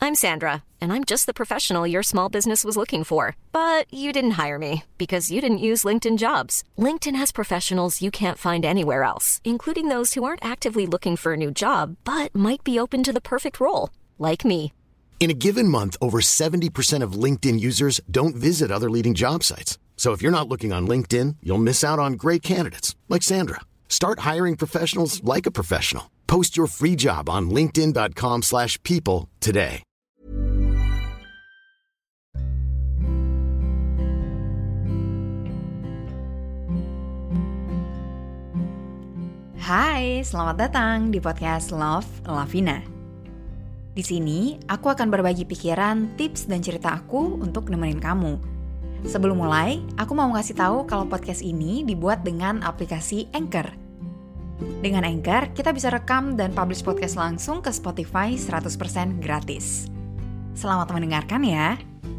I'm Sandra, and I'm just the professional your small business was looking for. But you didn't hire me because you didn't use LinkedIn Jobs. LinkedIn has professionals you can't find anywhere else, including those who aren't actively looking for a new job, but might be open to the perfect role, like me. In a given month, over 70% of LinkedIn users don't visit other leading job sites. So if you're not looking on LinkedIn, you'll miss out on great candidates like Sandra. Start hiring professionals like a professional. Post your free job on linkedin.com/people today. Hai, selamat datang di podcast Love Lavina. Di sini, aku akan berbagi pikiran, tips, dan cerita aku untuk nemenin kamu. Sebelum mulai, aku mau ngasih tahu kalau podcast ini dibuat dengan aplikasi Anchor. Dengan Anchor, kita bisa rekam dan publish podcast langsung ke Spotify 100% gratis. Selamat mendengarkan ya.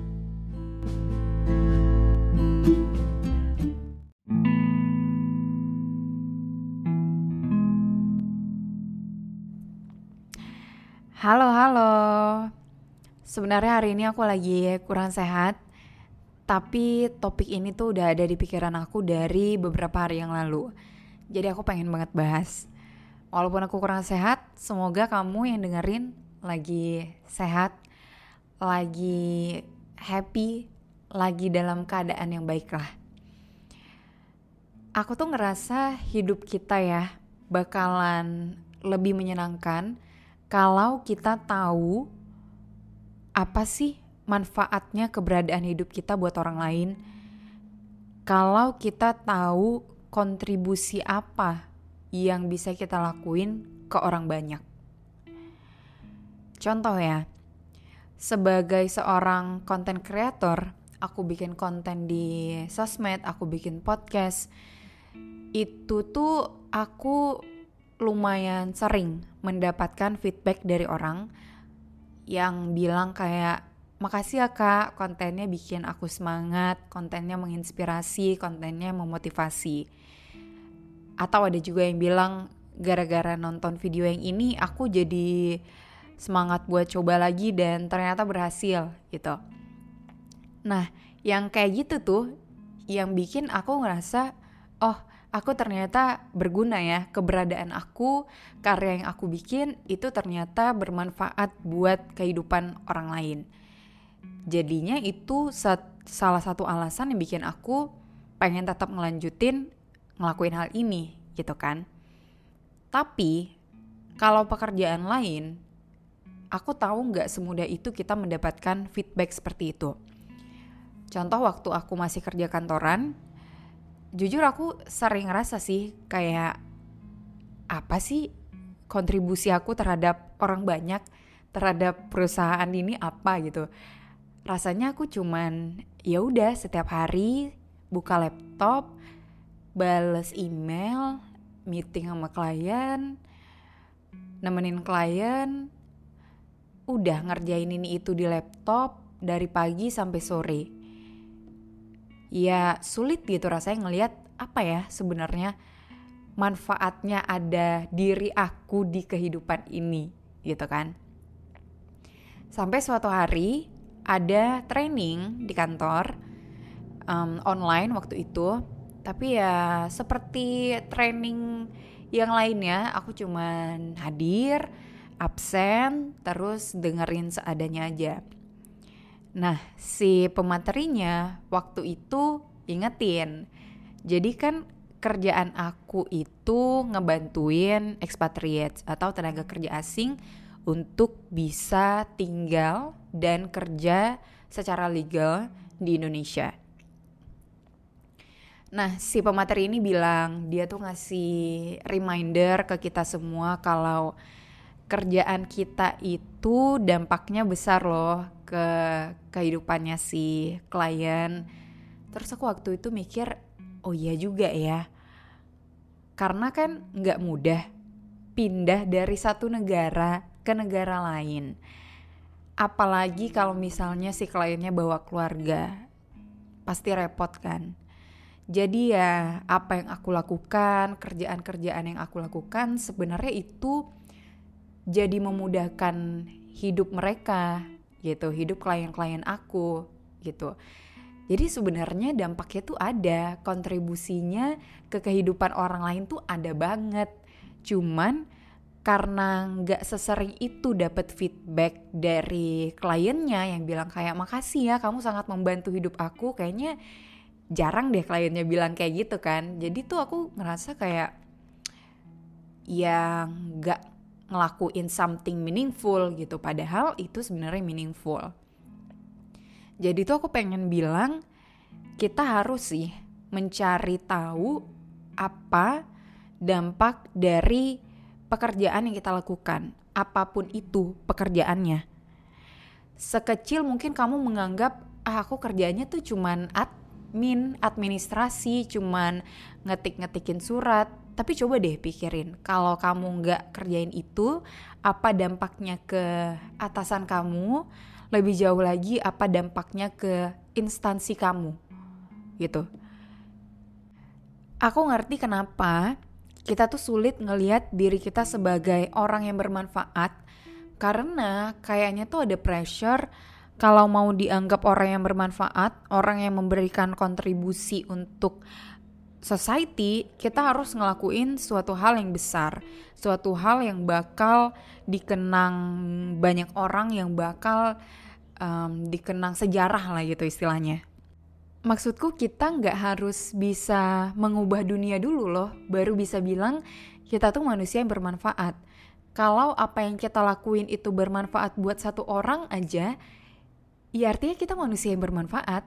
Halo. Sebenarnya hari ini aku lagi kurang sehat, tapi topik ini tuh udah ada di pikiran aku dari beberapa hari yang lalu. Jadi aku pengen banget bahas. Walaupun aku kurang sehat, semoga kamu yang dengerin lagi sehat, lagi happy, lagi dalam keadaan yang baik lah. Aku tuh ngerasa hidup kita ya bakalan lebih menyenangkan kalau kita tahu apa sih manfaatnya keberadaan hidup kita buat orang lain. Kalau kita tahu kontribusi apa yang bisa kita lakuin ke orang banyak. Contoh ya, sebagai seorang content creator, aku bikin konten di sosmed, aku bikin podcast. Itu tuh aku lumayan sering mendapatkan feedback dari orang yang bilang kayak, makasih ya kak, kontennya bikin aku semangat, kontennya menginspirasi, kontennya memotivasi. Atau ada juga yang bilang, gara-gara nonton video yang ini aku jadi semangat buat coba lagi dan ternyata berhasil gitu. Nah, yang kayak gitu tuh yang bikin aku ngerasa, oh aku ternyata berguna ya, keberadaan aku, karya yang aku bikin itu ternyata bermanfaat buat kehidupan orang lain. Jadinya itu salah satu alasan yang bikin aku pengen tetap ngelanjutin ngelakuin hal ini gitu kan. Tapi kalau pekerjaan lain, aku tahu gak semudah itu kita mendapatkan feedback seperti itu. Contoh waktu aku masih kerja kantoran, jujur aku sering ngerasa sih kayak apa sih kontribusi aku terhadap orang banyak, terhadap perusahaan ini apa gitu. Rasanya aku cuman ya udah setiap hari buka laptop, bales email, meeting sama klien, nemenin klien, udah ngerjain ini itu di laptop dari pagi sampai sore. Ya sulit gitu rasanya ngelihat apa ya sebenarnya manfaatnya ada diri aku di kehidupan ini gitu kan. Sampai suatu hari ada training di kantor online waktu itu, tapi ya seperti training yang lainnya aku cuman hadir, absen, terus dengerin seadanya aja. Nah, si pematerinya waktu itu ingetin. Jadi kan kerjaan aku itu ngebantuin expatriates atau tenaga kerja asing untuk bisa tinggal dan kerja secara legal di Indonesia. Nah, si pemateri ini bilang dia tuh ngasih reminder ke kita semua kalau kerjaan kita itu dampaknya besar loh ke kehidupannya si klien. Terus aku waktu itu mikir, oh iya juga ya. Karena kan gak mudah pindah dari satu negara ke negara lain. Apalagi kalau misalnya si kliennya bawa keluarga. Pasti repot kan. Jadi ya apa yang aku lakukan, kerjaan-kerjaan yang aku lakukan sebenarnya itu jadi memudahkan hidup mereka, gitu, hidup klien-klien aku gitu. Jadi sebenarnya dampaknya tuh ada, kontribusinya ke kehidupan orang lain tuh ada banget. Cuman karena nggak sesering itu dapat feedback dari kliennya yang bilang kayak makasih ya kamu sangat membantu hidup aku, kayaknya jarang deh kliennya bilang kayak gitu kan. Jadi tuh aku ngerasa kayak ya nggak ngelakuin something meaningful gitu, padahal itu sebenarnya meaningful. Jadi tuh aku pengen bilang kita harus sih mencari tahu apa dampak dari pekerjaan yang kita lakukan, apapun itu pekerjaannya. Sekecil mungkin kamu menganggap aku kerjanya tuh cuman administrasi, cuman ngetik-ngetikin surat. Tapi coba deh pikirin, kalau kamu nggak kerjain itu, apa dampaknya ke atasan kamu? Lebih jauh lagi, apa dampaknya ke instansi kamu? Gitu. Aku ngerti kenapa kita tuh sulit ngelihat diri kita sebagai orang yang bermanfaat, karena kayaknya tuh ada pressure kalau mau dianggap orang yang bermanfaat, orang yang memberikan kontribusi untuk society, kita harus ngelakuin suatu hal yang besar, suatu hal yang bakal dikenang banyak orang, yang bakal dikenang sejarah lah gitu istilahnya. Maksudku kita nggak harus bisa mengubah dunia dulu loh, baru bisa bilang kita tuh manusia yang bermanfaat. Kalau apa yang kita lakuin itu bermanfaat buat satu orang aja, ya artinya kita manusia yang bermanfaat.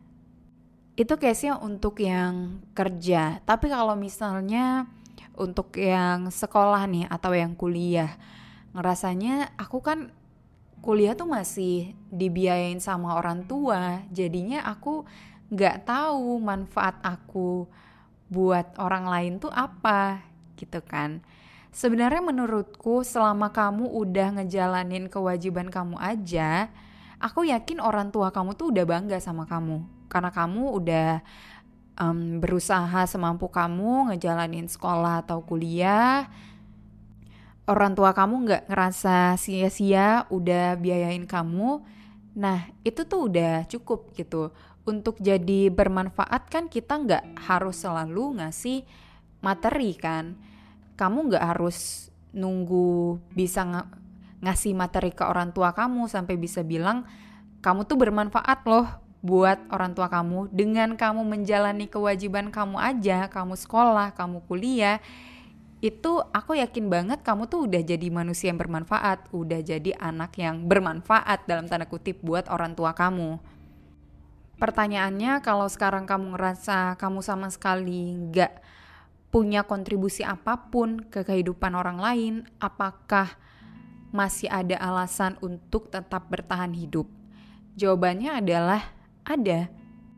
Itu case-nya untuk yang kerja. Tapi kalau misalnya untuk yang sekolah nih atau yang kuliah, ngerasanya aku kan kuliah tuh masih dibiayain sama orang tua, jadinya aku nggak tahu manfaat aku buat orang lain tuh apa gitu kan. Sebenarnya menurutku selama kamu udah ngejalanin kewajiban kamu aja, aku yakin orang tua kamu tuh udah bangga sama kamu. Karena kamu udah berusaha semampu kamu ngejalanin sekolah atau kuliah. Orang tua kamu gak ngerasa sia-sia udah biayain kamu. Nah itu tuh udah cukup gitu. Untuk jadi bermanfaat kan kita gak harus selalu ngasih materi kan. Kamu gak harus nunggu bisa ngasih materi ke orang tua kamu sampai bisa bilang kamu tuh bermanfaat loh buat orang tua kamu. Dengan kamu menjalani kewajiban kamu aja, kamu sekolah, kamu kuliah, itu aku yakin banget kamu tuh udah jadi manusia yang bermanfaat, udah jadi anak yang bermanfaat dalam tanda kutip buat orang tua kamu. Pertanyaannya, kalau sekarang kamu ngerasa kamu sama sekali gak punya kontribusi apapun ke kehidupan orang lain, apakah masih ada alasan untuk tetap bertahan hidup? Jawabannya adalah ada.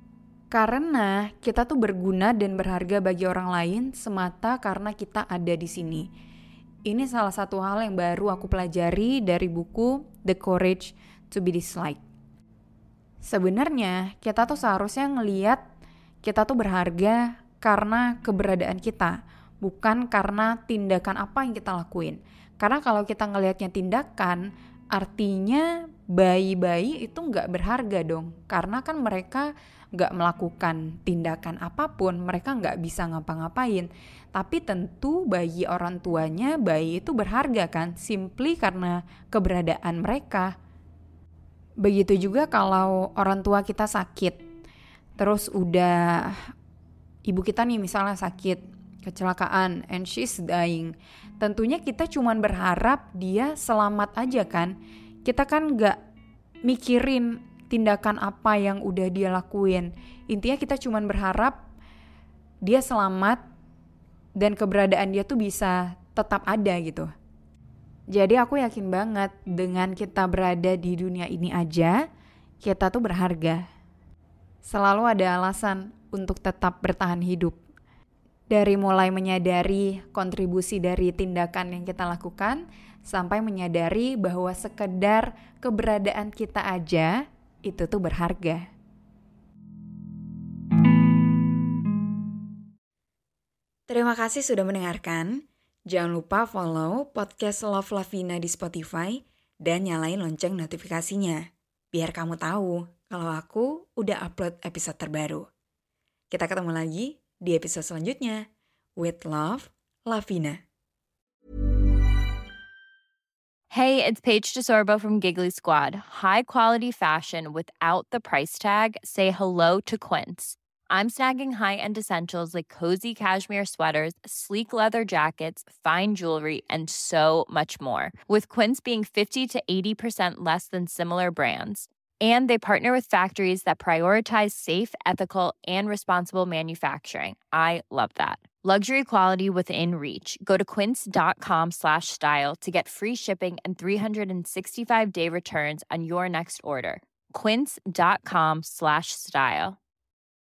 Karena kita tuh berguna dan berharga bagi orang lain semata karena kita ada di sini. Ini salah satu hal yang baru aku pelajari dari buku The Courage to be Disliked. Sebenarnya kita tuh seharusnya ngelihat kita tuh berharga karena keberadaan kita, bukan karena tindakan apa yang kita lakuin. Karena kalau kita ngelihatnya tindakan, artinya bayi-bayi itu gak berharga dong. Karena kan mereka gak melakukan tindakan apapun, mereka gak bisa ngapa-ngapain. Tapi tentu bagi orang tuanya, bayi itu berharga kan, simply karena keberadaan mereka. Begitu juga kalau orang tua kita sakit, terus udah ibu kita nih misalnya sakit, kecelakaan, and she's dying. Tentunya kita cuman berharap dia selamat aja kan. Kita kan gak mikirin tindakan apa yang udah dia lakuin. Intinya kita cuman berharap dia selamat dan keberadaan dia tuh bisa tetap ada gitu. Jadi aku yakin banget dengan kita berada di dunia ini aja, kita tuh berharga. Selalu ada alasan untuk tetap bertahan hidup. Dari mulai menyadari kontribusi dari tindakan yang kita lakukan, sampai menyadari bahwa sekedar keberadaan kita aja itu tuh berharga. Terima kasih sudah mendengarkan. Jangan lupa follow podcast Love Lavina di Spotify dan nyalain lonceng notifikasinya. biar kamu tahu kalau aku udah upload episode terbaru. Kita ketemu lagi di episode selanjutnya. With love, Lavina. Hey, it's Paige DeSorbo from Giggly Squad. High quality fashion without the price tag. Say hello to Quince. I'm snagging high-end essentials like cozy cashmere sweaters, sleek leather jackets, fine jewelry, and so much more. With Quince being 50 to 80% less than similar brands. And they partner with factories that prioritize safe, ethical, and responsible manufacturing. I love that. Luxury quality within reach. Go to quince.com/style to get free shipping and 365-day returns on your next order. Quince.com/style.